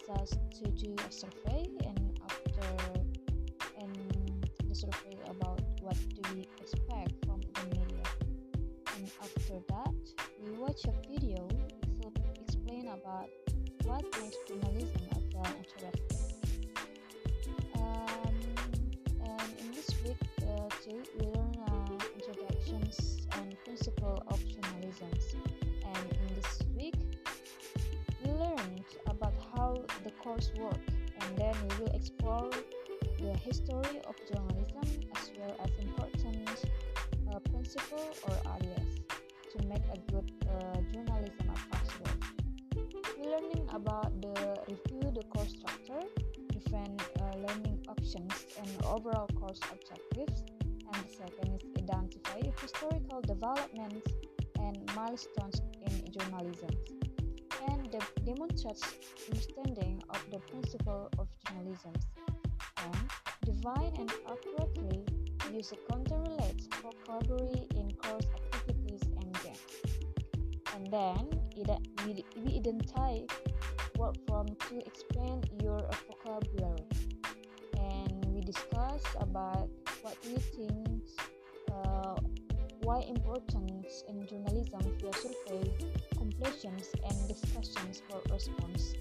us to do a survey, and the survey about what do we expect from the media. And after that, we watch a video to explain about what makes journalism interesting. And in this week too, we learn introductions and principle of journalism. And in this week, we learned about how the course works, and then we will explore the history of journalism as well as important principles or ideas to make a good journalism possible. We're learning about the review the course structure, different learning options, and overall course objectives. And the second is identify historical developments and milestones in journalism, and demonstrates understanding of the principle of journalism, and define and accurately use a content-related vocabulary in course activities and games. And then we identify word form to explain your vocabulary, and we discuss about what we think why importance in journalism via survey, completions, and discussions for response.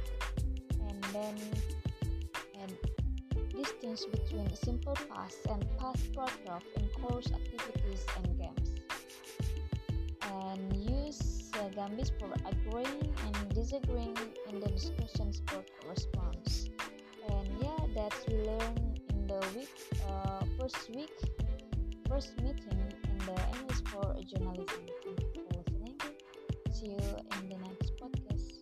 And distance between simple past and past paragraph in course activities and games. And use Gambis for agreeing and disagreeing in the discussions for response. And that's we learn in the first meeting in the English for journalism. Thank you for listening. See you in the next podcast.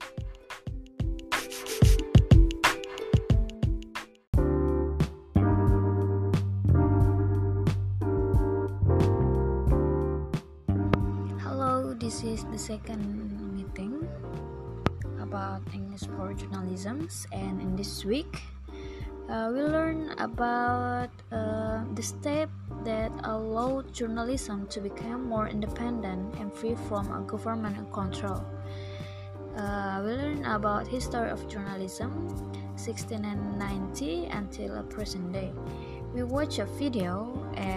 Hello, this is the second meeting about English for journalism, and in this week we learn about the step that allow journalism to become more independent and free from government control. We learn about history of journalism, 1690 until present day. We watch a video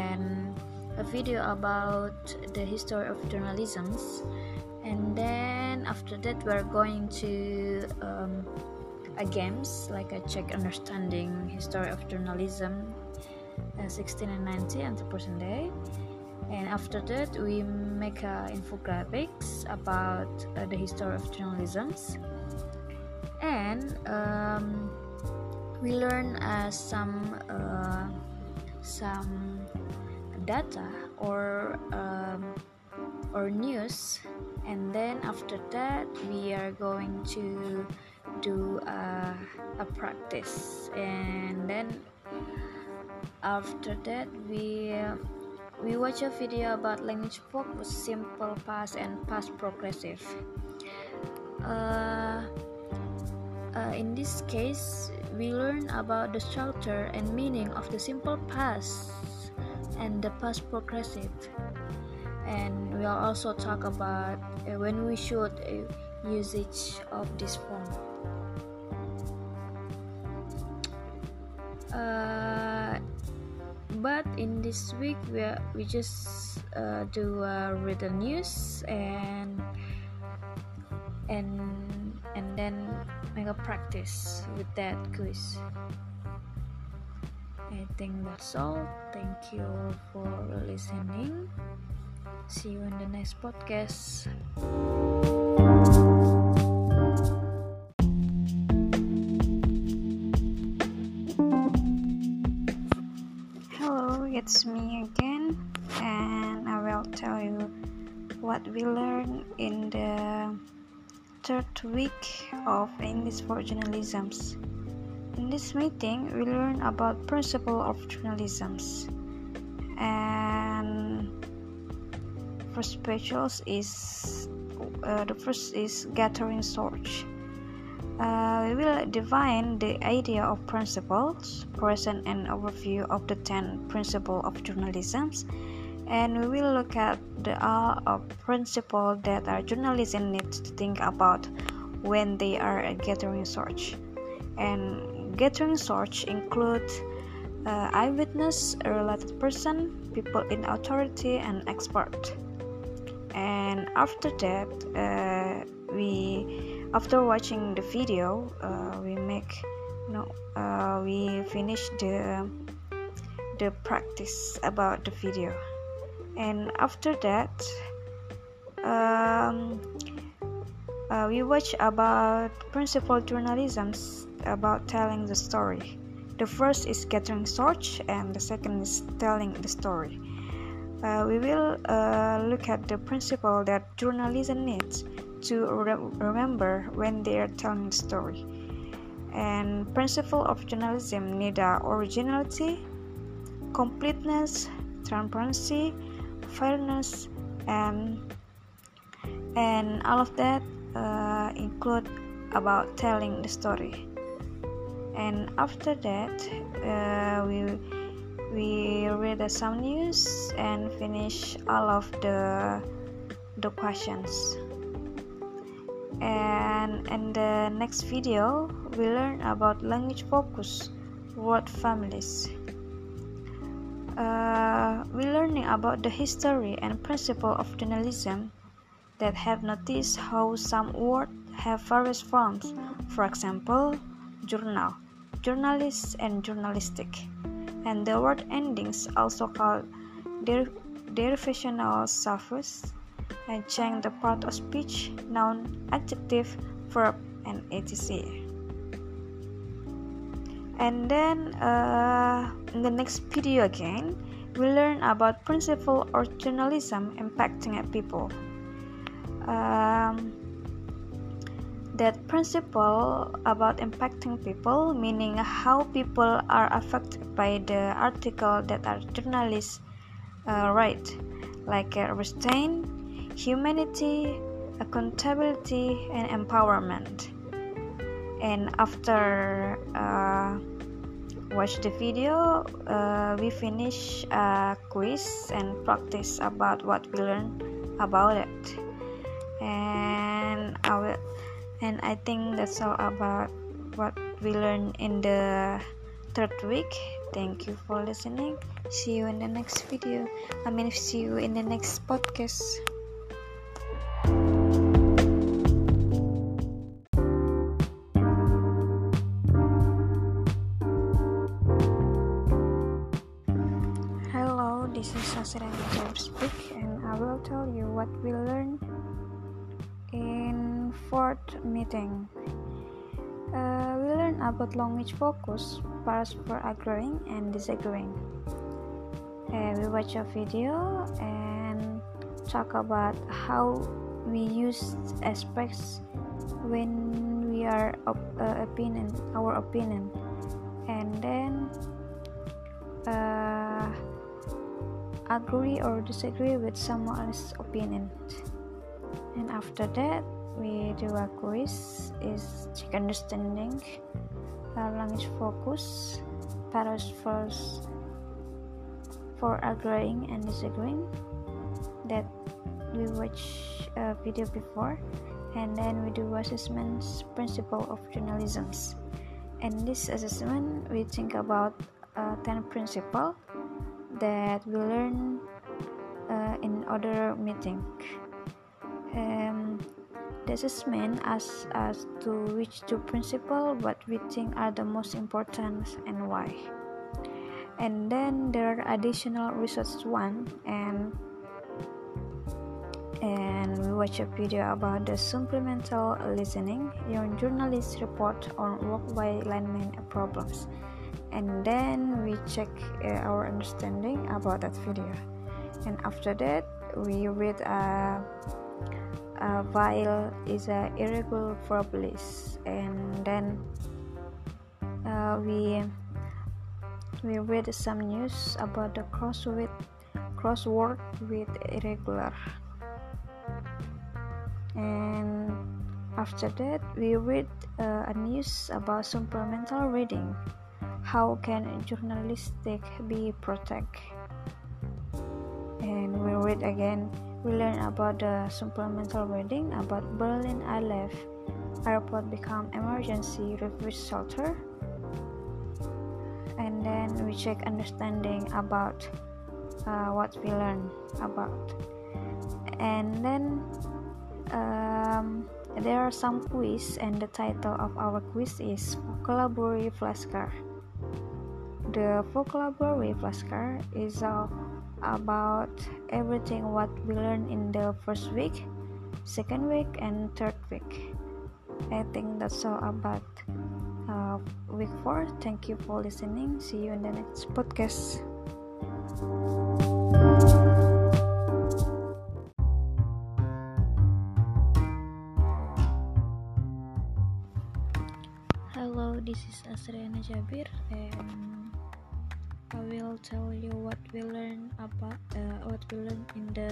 about the history of journalism, and then after that we're going to a games like a check understanding history of journalism 1690 until present day. And after that we make infographics about the history of journalism, and we learn some data or news. And then after that we are going to do a practice, and then after that we watch a video about language focus, simple past and past progressive. In this case we learn about the structure and meaning of the simple past and the past progressive, and we'll also talk about when we should usage of this form. But in this week we just do written news and then make a practice with that quiz. I think that's all. Thank you for listening. See you in the next podcast. Hello, it's me again, and I will tell you what we learned in the third week of English for journalism. In this meeting, we learn about principle of journalism, and first specials is the first is gathering source. We will define the idea of principles, present an overview of the 10 principles of journalism, and we will look at the principles that our journalism needs to think about when they are gathering source. And gathering source include eyewitness, a related person, people in authority, and expert. And after that, after watching the video, we finish the practice about the video. And after that, we watch about principal journalisms about telling the story. The first is gathering source, and the second is telling the story. We will look at the principle that journalism needs to remember when they are telling the story. And principle of journalism need originality, completeness, transparency, fairness, and all of that include about telling the story. And after that, we read some news and finish all of the questions. And in the next video, we learn about language focus, word families. We learning about the history and principle of journalism that have noticed how some words have various forms. For example, journal, journalist, and journalistic. And the word endings also called derivational suffix and change the part of speech, noun, adjective, verb, and etc. And then in the next video again, we learn about principle of journalism impacting people. That principle about impacting people, meaning how people are affected by the article that our journalists write, like restraint, humanity, accountability, and empowerment. And after watch the video, we finish a quiz and practice about what we learned about it. And I think that's all about what we learned in the third week. Thank you for listening. See you in the next video. See you in the next podcast. Hello, this is Sasra speak, and I will tell you what we learned in fourth meeting. We learn about language focus, parts for agreeing and disagreeing. We watch a video and talk about how we use aspects when we are our opinion, and then agree or disagree with someone else's opinion. And after that, we do a quiz, is check understanding, language focus, paragraphs for agreeing and disagreeing, that we watch a video before. And then we do assessments, principle of journalism. And this assessment, we think about 10 principles that we learn in other meeting. The assessment asks us to which two principles what we think are the most important and why. And then there are additional research one, and we watch a video about the supplemental listening, your journalist report on work-by lineman problems. And then we check our understanding about that video. And after that, we read while is a irregular verb list, and then we read some news about the crossword with irregular. And after that, we read a news about supplemental reading. How can journalistic be protected? And we read again We learn about the supplemental reading about Berlin ILF airport become emergency refuge shelter, and then we check understanding about what we learn about, and then there are some quiz, and the title of our quiz is Vocabulary Flashcard. The vocabulary flashcard is about everything what we learned in the first week, second week, and third week. I think that's all about week 4. Thank you for listening. See you in the next podcast. Hello, this is Asriana Jabir, and I will tell you what we learned in the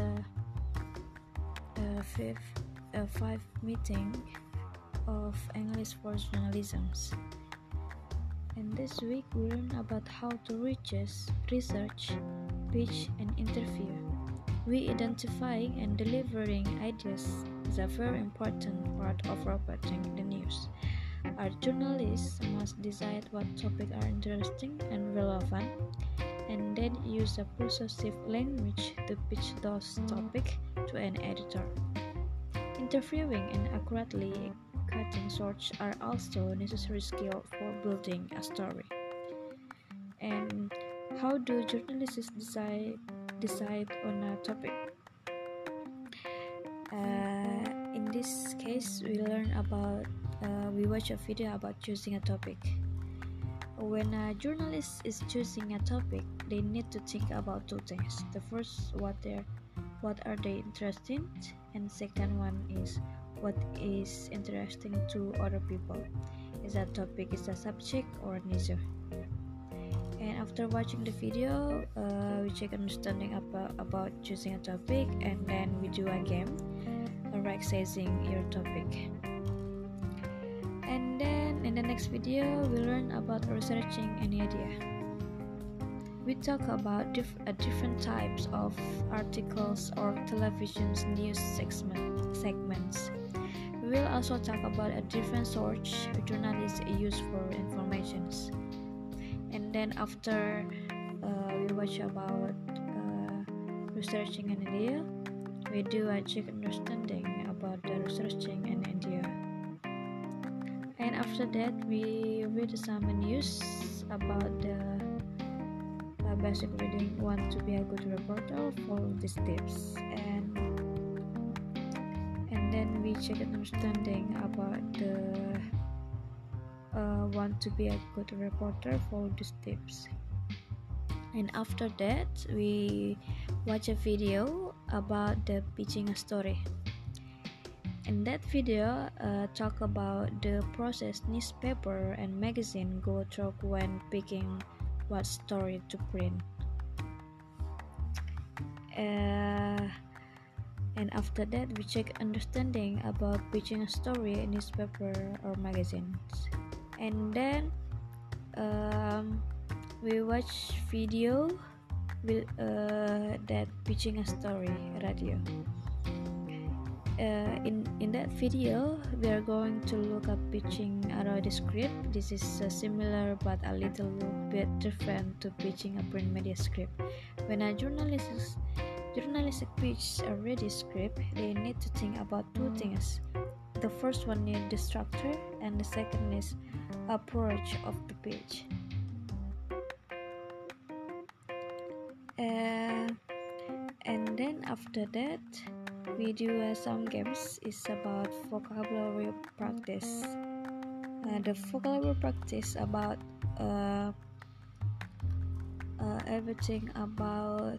five meeting of English for journalisms. And this week we learn about how to research, pitch, and interview. We identifying and delivering ideas is a very important part of reporting the news. Our journalists must decide what topics are interesting and relevant, and then use a persuasive language to pitch those topics to an editor. Interviewing and accurately cutting sources are also necessary skills for building a story. And how do journalists decide on a topic? In this case, we watch a video about choosing a topic. When a journalist is choosing a topic, they need to think about two things. The first, what are they interested in, and second one is what is interesting to other people. Is that topic is a subject or neither? And after watching the video, we check understanding about choosing a topic, and then we do a game, accessing your topic. And then in the next video, we learn about researching an idea. We talk about different types of articles or television news segments. We will also talk about a different source journalists use for information. And then after we watch about researching an idea, we do a check understanding about the researching an idea. And after that, we read some news about the basic reading. Want to be a good reporter? Follow these tips, and then we check understanding about the want to be a good reporter. Follow these tips. And after that, we watch a video about the pitching a story. In that video, talk about the process newspaper and magazine go through when picking what story to print. And after that, we check understanding about pitching a story in newspaper or magazines. And then we watch video that pitching a story radio. In that video, we are going to look at pitching a radio script. This is similar but a little bit different to pitching a print media script. When a journalist pitch a radio script, they need to think about two things. The first one is the structure, and the second is approach of the pitch. And then after that, we do some games. It's about vocabulary practice. The vocabulary practice about everything about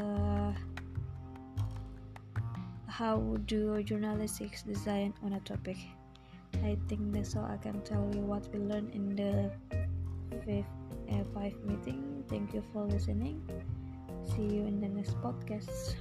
how do journalists design on a topic. I think that's all I can tell you what we learned in the five meeting. Thank you for listening. See you in the next podcast.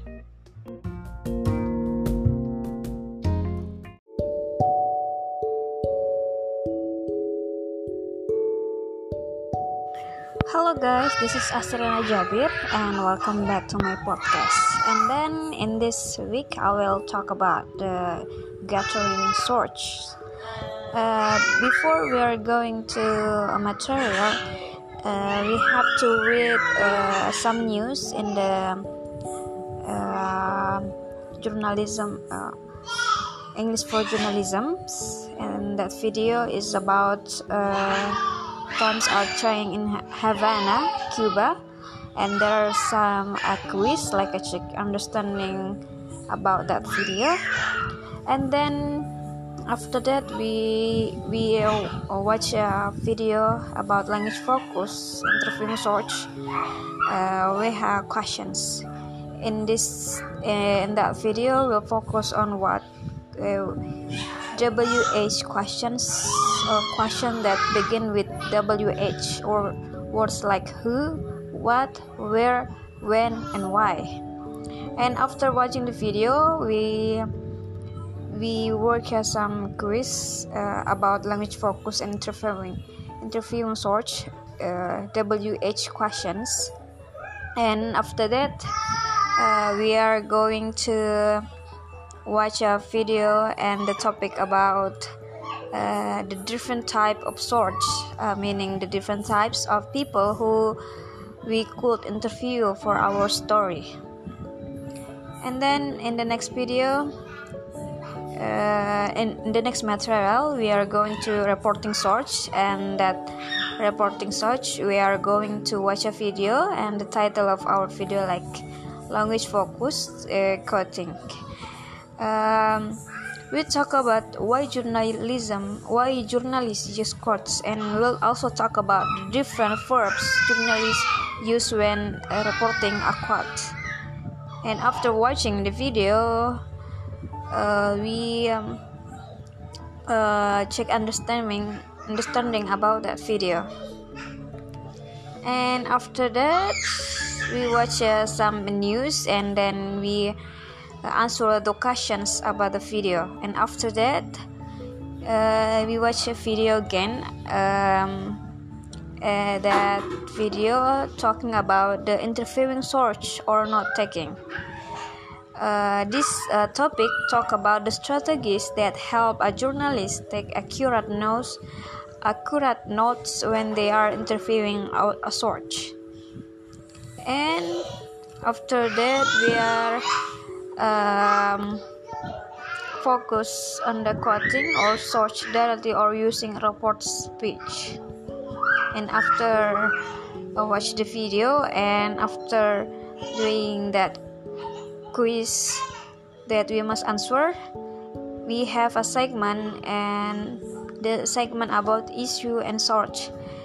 Hello guys, this is Astrina Jabir and welcome back to my podcast. And then in this week I will talk about the gathering search. Before we are going to a material, we have to read some news in the journalism, English for journalism, and that video is about bombs are trying in Havana, Cuba, and there are some quiz like a check understanding about that video. And then after that we watch a video about language focus interview search. We have questions in that video. We'll focus on what WH questions, or question that begin with WH, or words like who, what, where, when, and why. And after watching the video, we work as some quiz about language focus and interviewing search, WH questions. And after that, we are going to watch a video and the topic about the different type of search, meaning the different types of people who we could interview for our story. And then in the next video, in the next material, we are going to reporting search, and that reporting search we are going to watch a video, and the title of our video like language focused quoting. We talk about why journalists use quotes, and we'll also talk about the different verbs journalists use when reporting a quote. And after watching the video, we check understanding about that video. And after that, we watch some news, and then we answer the questions about the video. And after that, we watch a video again, that video talking about the interviewing search or not taking. This topic talk about the strategies that help a journalist take accurate notes when they are interviewing a search. And after that, we are focus on the quoting or search directly or using report speech. And after watch the video, and after doing that quiz that we must answer, we have a segment, and the segment about issue and search.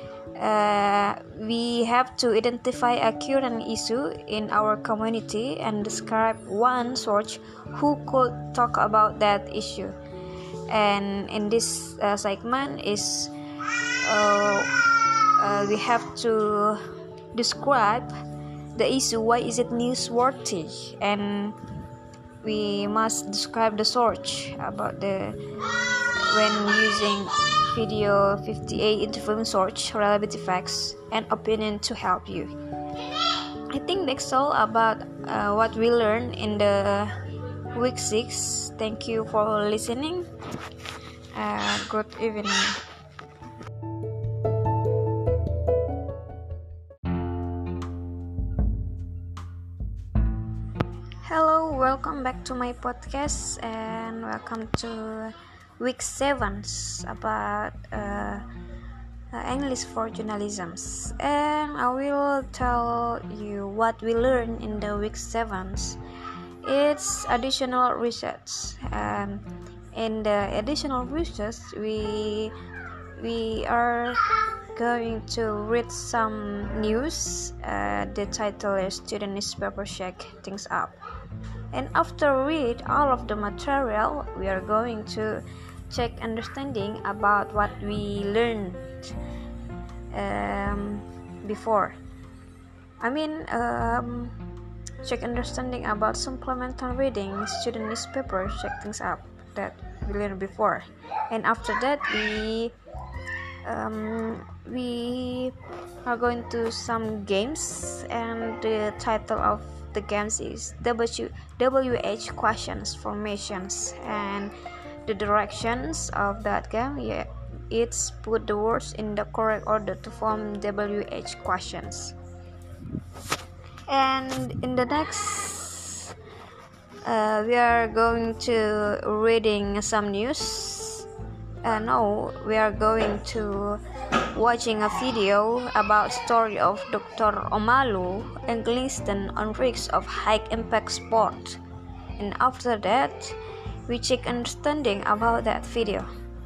We have to identify a current issue in our community and describe one search who could talk about that issue. And in this segment is we have to describe the issue, why is it newsworthy, and we must describe the search about when using video 58 interviewing search, reliability facts, and opinion to help you. I think that's all about what we learned in the week 6. Thank you for listening. Good evening. Hello, welcome back to my podcast, and welcome to week 7 about English for journalism. And I will tell you what we learned in the week 7. It's additional research, and in the additional research we are going to read some news. The title is Student Newspaper Shake Things Up. And after read all of the material, we are going to check understanding about what we learned before. Check understanding about supplemental reading, student newspaper, check things up that we learned before. And after that, we are going to some games, and the title of the games is WH questions formations, and the directions of that game, it's put the words in the correct order to form WH questions. And in the next we are going to reading some news. No, we are going to watching a video about story of Dr. Omalu Eggleston on risks of high impact sport. And after that, we check understanding about that video.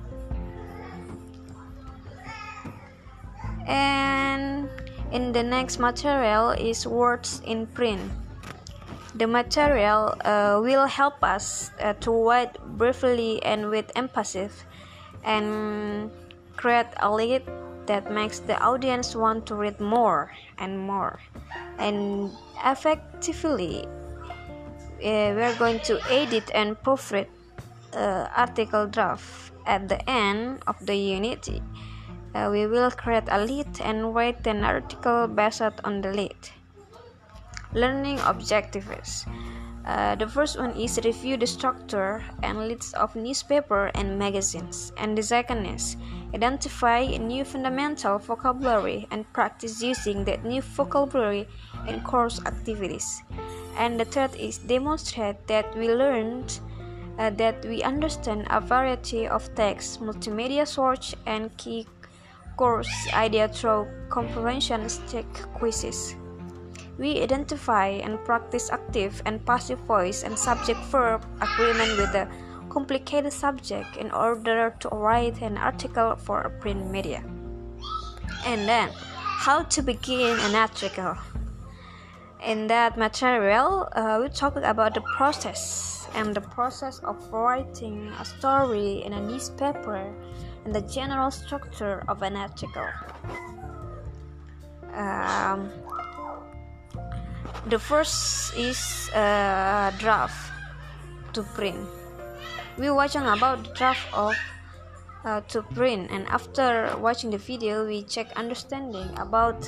And in the next material is words in print. The material will help us to write briefly and with emphasis, and create a lead that makes the audience want to read more and more. And effectively, we're going to edit and proofread article draft. At the end of the unit, we will create a lead and write an article based on the lead. Learning objectives. The first one is review the structure and leads of newspaper and magazines. And the second is identify a new fundamental vocabulary and practice using that new vocabulary in course activities. And the third is demonstrate that we learned that we understand a variety of text, multimedia search, and key course idea through comprehension check quizzes. We identify and practice active and passive voice and subject-verb agreement with a complicated subject in order to write an article for a print media. And then, how to begin an article. In that material, we talk about the process of writing a story in a newspaper and the general structure of an article. The first is draft to print. We watching about the draft of to print, and after watching the video, we check understanding about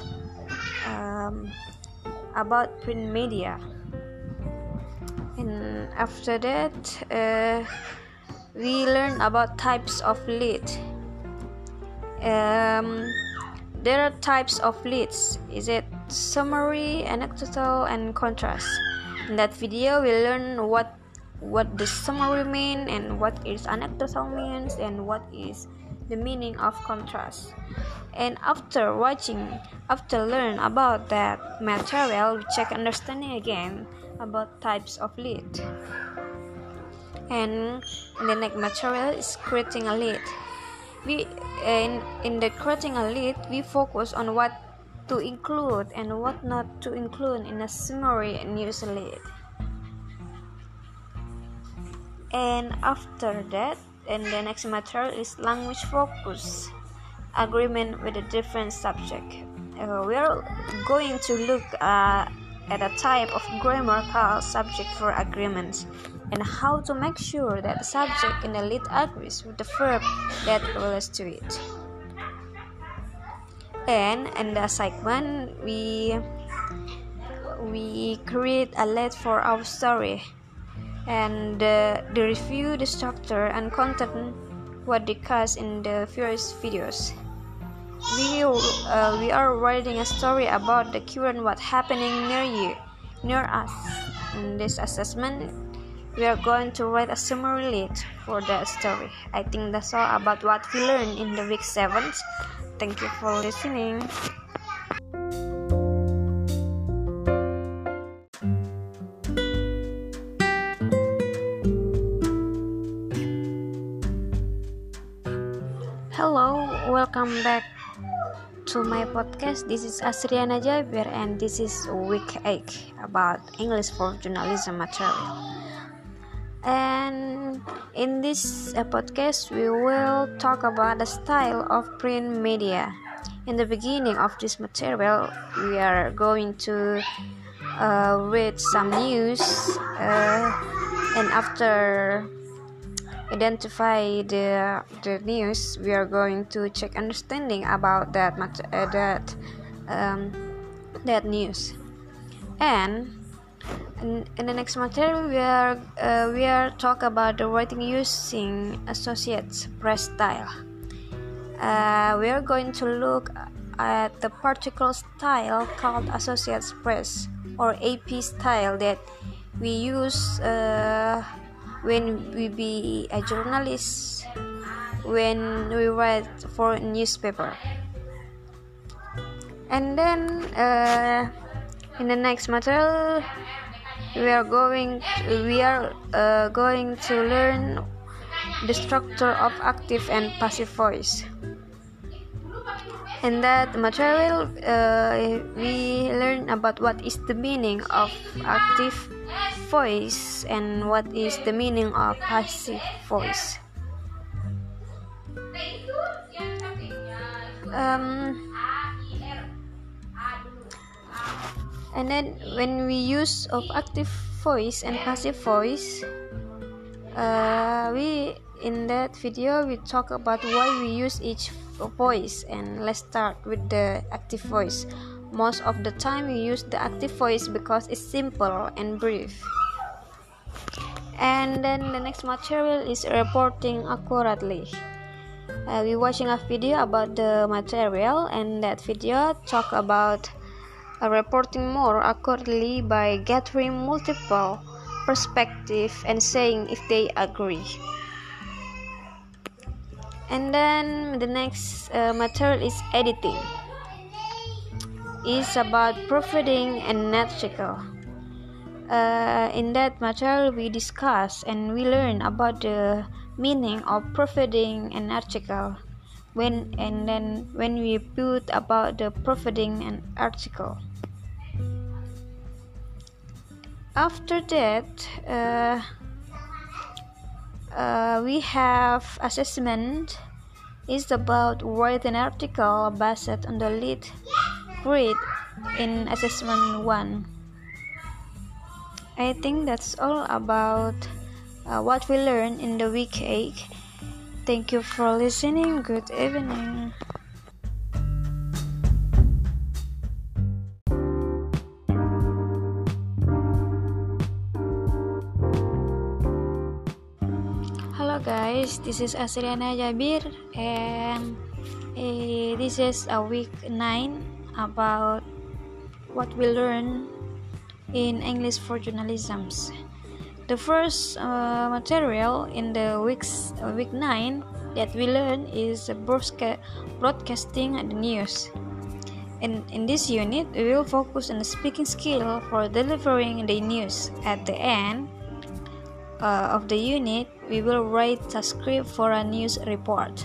print media. And after that, we learn about types of lead. There are types of leads. Is it summary, anecdotal, and contrast? In that video, we learn what the summary mean and what is anecdotal means and what is the meaning of contrast. And after learn about that material, we check understanding again about types of lead. And the next material is creating a lead. We in the creating a lead, we focus on what to include and what not to include in a summary news lead. And after that, and the next material is language focus, agreement with a different subject. We are going to look at a type of grammar called subject-verb agreements, and how to make sure that the subject in the lead agrees with the verb that relates to it. And in the segment, we create a lead for our story, and the review the structure and content what discussed in the various videos. We are writing a story about the current what happening near us. In this assessment, we are going to write a summary lead for the story. I think that's all about what we learned in the week 7. Thank you for listening. Hello, welcome back to my podcast. This is Asriana Jabir, and this is week 8 about English for journalism material. And in this podcast, we will talk about the style of print media. In the beginning of this material, we are going to read some news, and after identify the news, we are going to check understanding about that that news. And in the next material, we are talk about the writing using Associates Press style. We are going to look at the particular style called Associates Press or AP style that we use when we be a journalist, when we write for a newspaper. And then in the next material, we are going to learn the structure of active and passive voice. In that material, we learn about what is the meaning of active voice and what is the meaning of passive voice. And then when we use of active voice and passive voice, in that video we talk about why we use each voice. And let's start with the active voice. Most of the time we use the active voice because it's simple and brief. And then the next material is reporting accurately. We watching a video about the material, and that video talk about reporting more accurately by gathering multiple perspectives and saying if they agree. And then the next material is editing. It's about proofreading and article. In that material we discuss and we learn about the meaning of proofreading an article. When we put about the proofreading an article. After that, we have assessment. Is about write an article based on the lead grade in assessment 1. I think that's all about what we learned in the week 8. Thank you for listening. Good evening. Hello guys, this is Asriana Jabir, and this is a week 9 about what we learn in English for journalism. The first material in the week 9 that we learn is broadcasting the news. In this unit, we will focus on the speaking skill for delivering the news. At the end of the unit, we will write a script for a news report.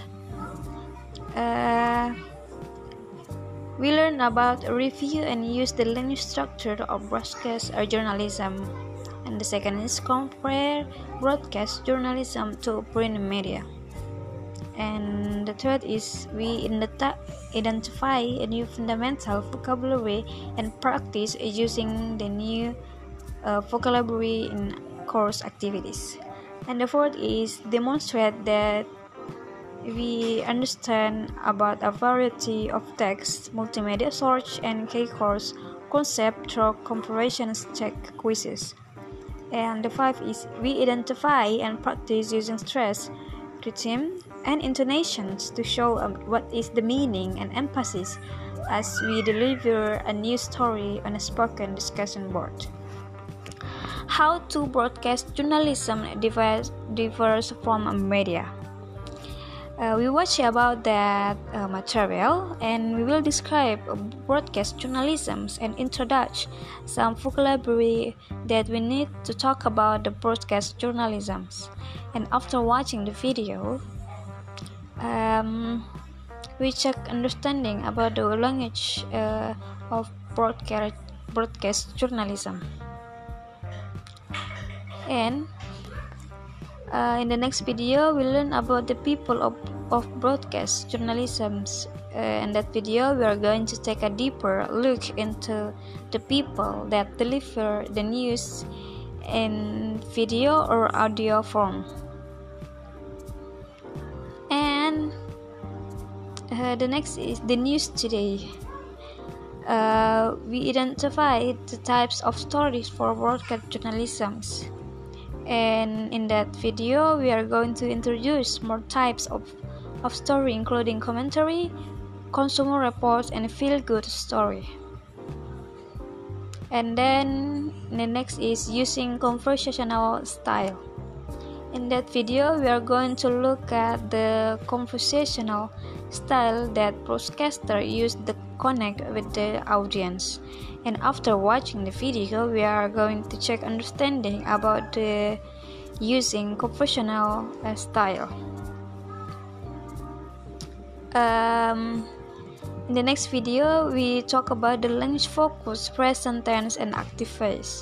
We learn about review and use the language structure of broadcast journalism. And the second is compare broadcast journalism to print media. And the third is we identify a new fundamental vocabulary and practice using the new vocabulary in course activities. And the fourth is demonstrate that we understand about a variety of text, multimedia search, and K-course concept through comparisons check quizzes. And the fifth is we identify and practice using stress, rhythm, and intonations to show what is the meaning and emphasis as we deliver a news story on a spoken discussion board. How to broadcast journalism differs from media. We watch about that material, and we will describe broadcast journalism and introduce some vocabulary that we need to talk about the broadcast journalism. And after watching the video, we check understanding about the language of broadcast journalism. And in the next video, we learn about the people of broadcast journalism. In that video, we are going to take a deeper look into the people that deliver the news in video or audio form. And the next is the news today. we identify the types of stories for broadcast journalism. And in that video, we are going to introduce more types of story, including commentary, consumer reports, and feel-good story. And then the next is using conversational style. In that video, we are going to look at the conversational style that broadcaster use to connect with the audience. And after watching the video, we are going to check understanding about the using conversational style. In the next video, we talk about the language focus, present tense, and active voice.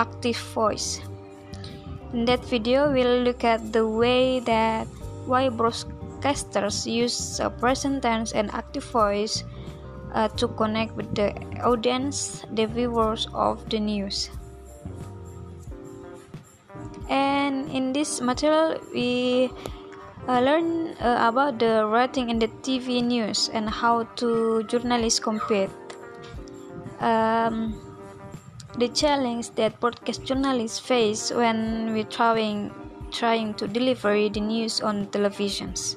In that video, we'll look at the way that why broadcasters use present tense and active voice to connect with the audience, the viewers of the news. And in this material, we learn about the rating in the TV news and how to journalists compete. The challenge that broadcast journalists face when we're trying to deliver the news on televisions.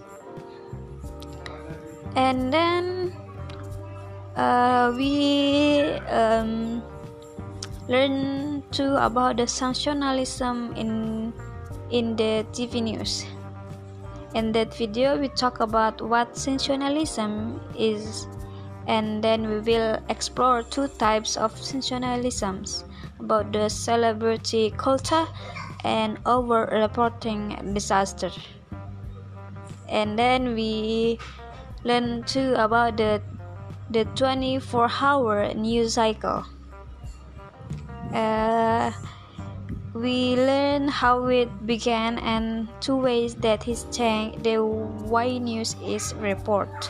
And then we learn too about the sensationalism in the TV news. In that video, we talk about what sensationalism is, and then we will explore two types of sensationalisms, about the celebrity culture and over-reporting disaster. And then we learn too about the 24-hour news cycle. We learn how it began and two ways that it's changed the way news is reported.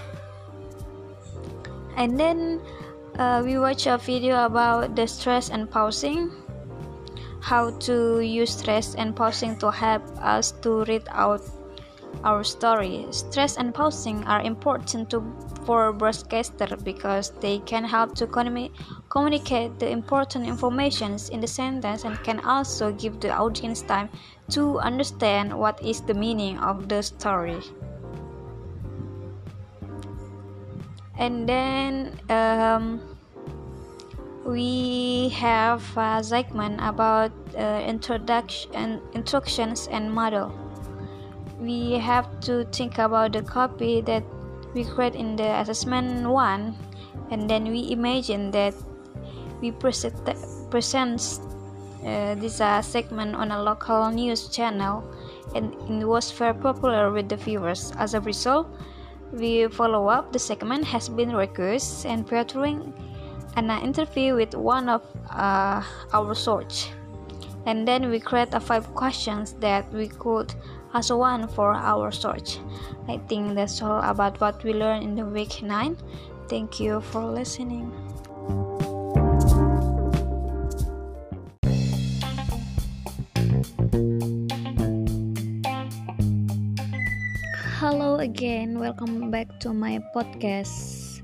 And then we watch a video about the stress and pausing, how to use stress and pausing to help us to read out our story. Stress and pausing are important for broadcasters because they can help to communicate the important information in the sentence and can also give the audience time to understand what is the meaning of the story. And then we have a segment about instructions and model. We have to think about the copy that we create in the assessment 1, and then we imagine that we present this segment on a local news channel, and it was very popular with the viewers. As a result, we follow up the segment has been requested and featuring an interview with one of our source. And then we create 5 questions that we could ask one for our search. I think that's all about what we learned in the week 9. Thank you for listening. Hello again, welcome back to my podcast.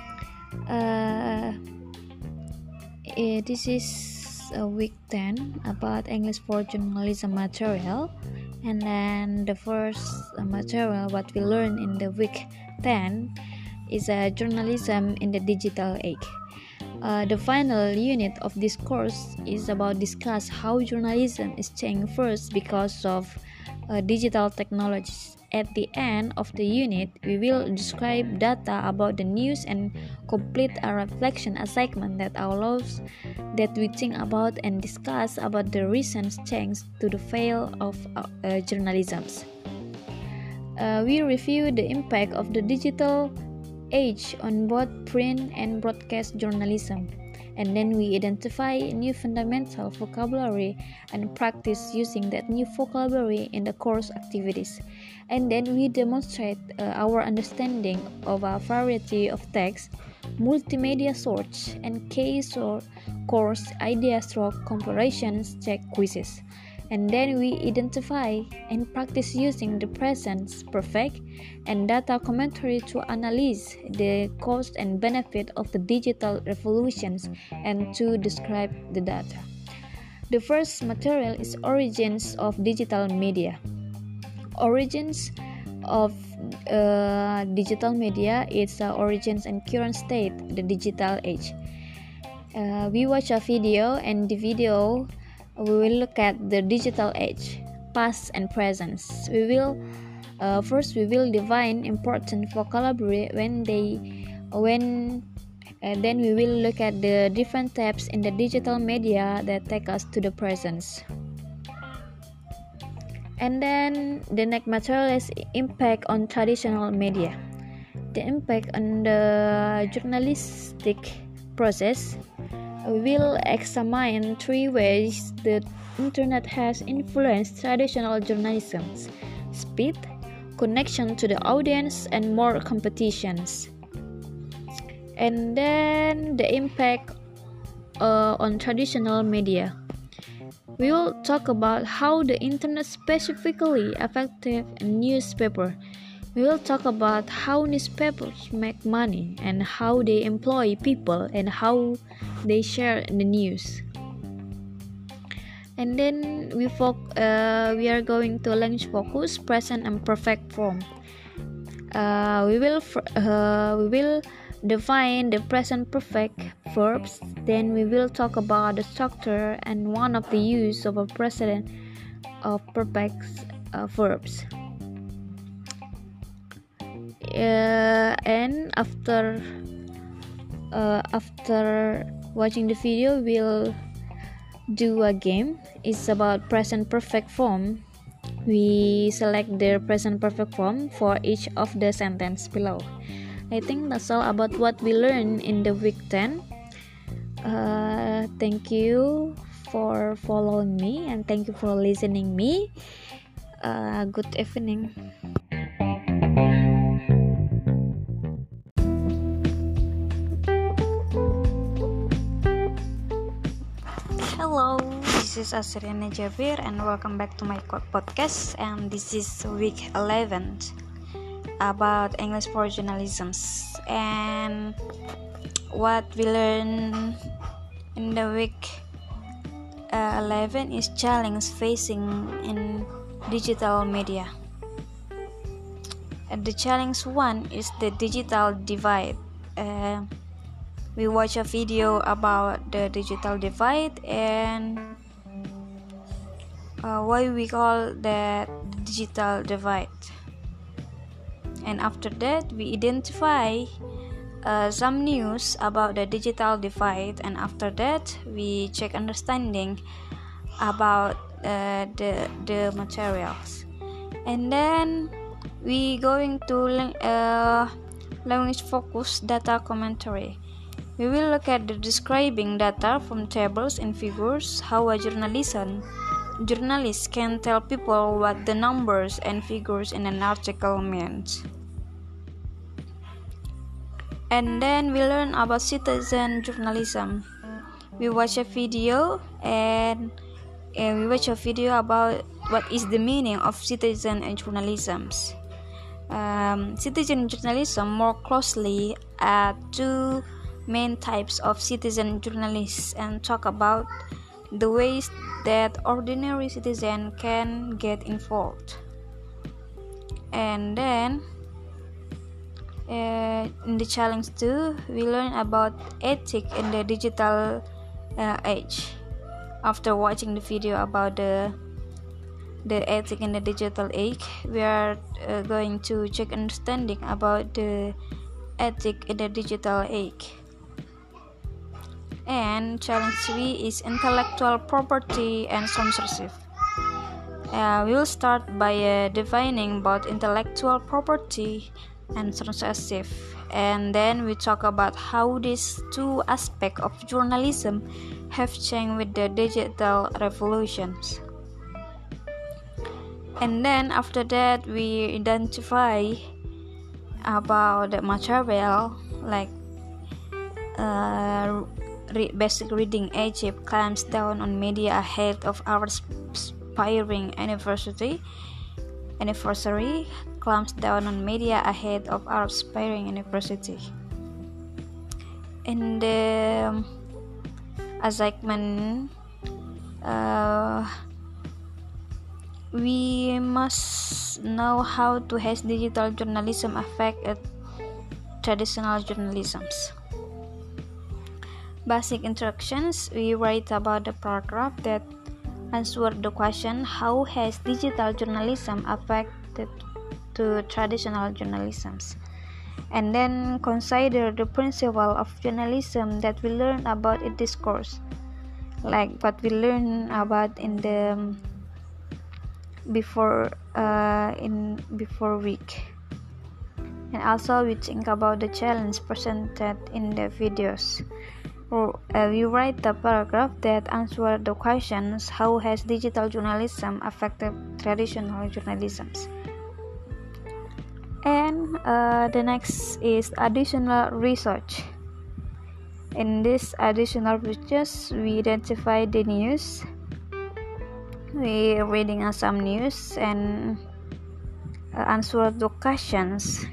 This is week 10 about English for journalism material, and then the first material what we learn in the week 10 is journalism in the digital age. The final unit of this course is about discuss how journalism is changing first because of digital technologies. At the end of the unit, we will describe data about the news and complete a reflection assignment that allows that we think about and discuss about the recent change to the field of journalism. We review the impact of the digital age on both print and broadcast journalism, and then we identify new fundamental vocabulary and practice using that new vocabulary in the course activities. And then we demonstrate our understanding of a variety of text, multimedia source, and case or course idea stroke comparisons check quizzes. And then we identify and practice using the present perfect and data commentary to analyze the cost and benefit of the digital revolutions and to describe the data. The first material is origins of digital media. Origins of digital media is origins and current state, the digital age. We watch a video, and the video we will look at the digital age, past and present. We will define important vocabulary then we will look at the different types in the digital media that take us to the present. And then the next material is impact on traditional media. The impact on the journalistic process. We will examine 3 ways the internet has influenced traditional journalism: speed, connection to the audience, and more competitions. And then the impact on traditional media. We will talk about how the internet specifically affected a newspaper. We will talk about how newspapers make money and how they employ people and how they share the news. And then we are going to language focus, present and perfect form. We will define the present perfect verbs. Then we will talk about the structure and one of the use of a present of perfect verbs. And after watching the video, we'll do a game. It's about present perfect form. We select the present perfect form for each of the sentence below. I think that's all about what we learned in the week 10. Thank you for following me and thank you for listening me. Good evening. Hello, this is Asriana Jabir and welcome back to my podcast, and this is week 11 about English for journalism. And what we learned in the week 11 is challenge facing in digital media. The challenge 1 is the digital divide. We watch a video about the digital divide and why we call that digital divide. And after that, we identify some news about the digital divide, and after that, we check understanding about the materials. And then we going to language focus data commentary. We will look at the describing data from tables and figures, how a journalist can tell people what the numbers and figures in an article means. And then we learn about citizen journalism. We watch a video about what is the meaning of citizen and journalism. Citizen journalism more closely at 2 main types of citizen journalists and talk about the ways that ordinary citizen can get involved. And then in the challenge 2, we learn about ethics in the digital age. After watching the video about the ethics in the digital age, we are going to check understanding about the ethics in the digital age. And challenge 3 is intellectual property and censorship. We will start by defining both intellectual property and censorship, and then we talk about how these 2 aspects of journalism have changed with the digital revolutions. And then after that, we identify about the material like basic reading. Egypt clamps down on media ahead of our aspiring anniversary clamps down on media ahead of our aspiring anniversary. In the assignment, we must know how to has digital journalism affect traditional journalisms. Basic instructions, we write about the paragraph that answer the question how has digital journalism affected to traditional journalisms, and then consider the principle of journalism that we learn about in this course, like what we learn about in the before week. And also we think about the challenge presented in the videos. We write the paragraph that answer the questions how has digital journalism affected traditional journalisms. And the next is additional research. In this additional research, we identify the news. We reading some news and answer the questions.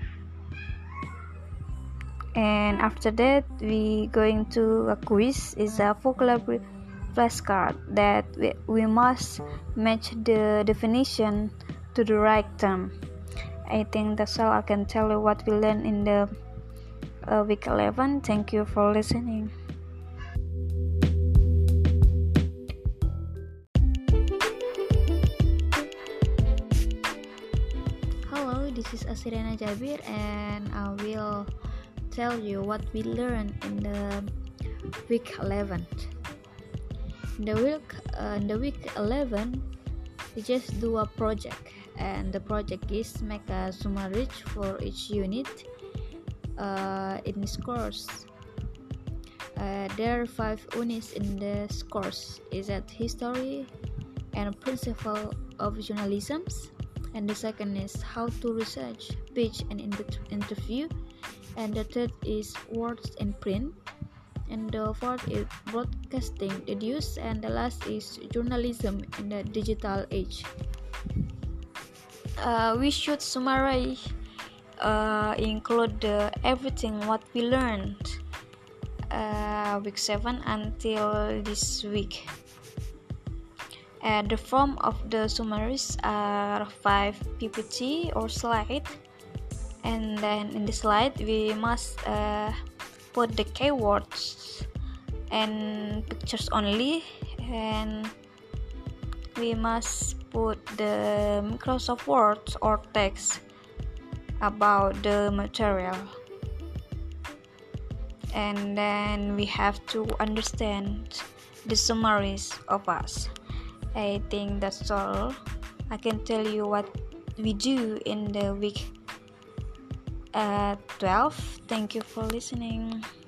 And after that, we going to a quiz. Is a vocabulary flashcard that we must match the definition to the right term. I think that's all I can tell you what we learned in the week 11. Thank you for listening. Hello, this is Asirena Jabir and I will tell you what we learned in the week 11. In the week 11, we just do a project, and the project is make a summary for each unit in this course. There are 5 units in this course. Is that history and principle of journalism, and the second is how to research, pitch and interview, and the third is words in print, and the fourth is broadcasting the news, and the last is journalism in the digital age. We should summarize, include everything what we learned week 7 until this week. The form of the summaries are 5 PPT or slide, and then in the slide we must put the keywords and pictures only, and we must put the Microsoft Word or text about the material, and then we have to understand the summaries of us. I think that's all I can tell you what we do in the week 12. Thank you for listening.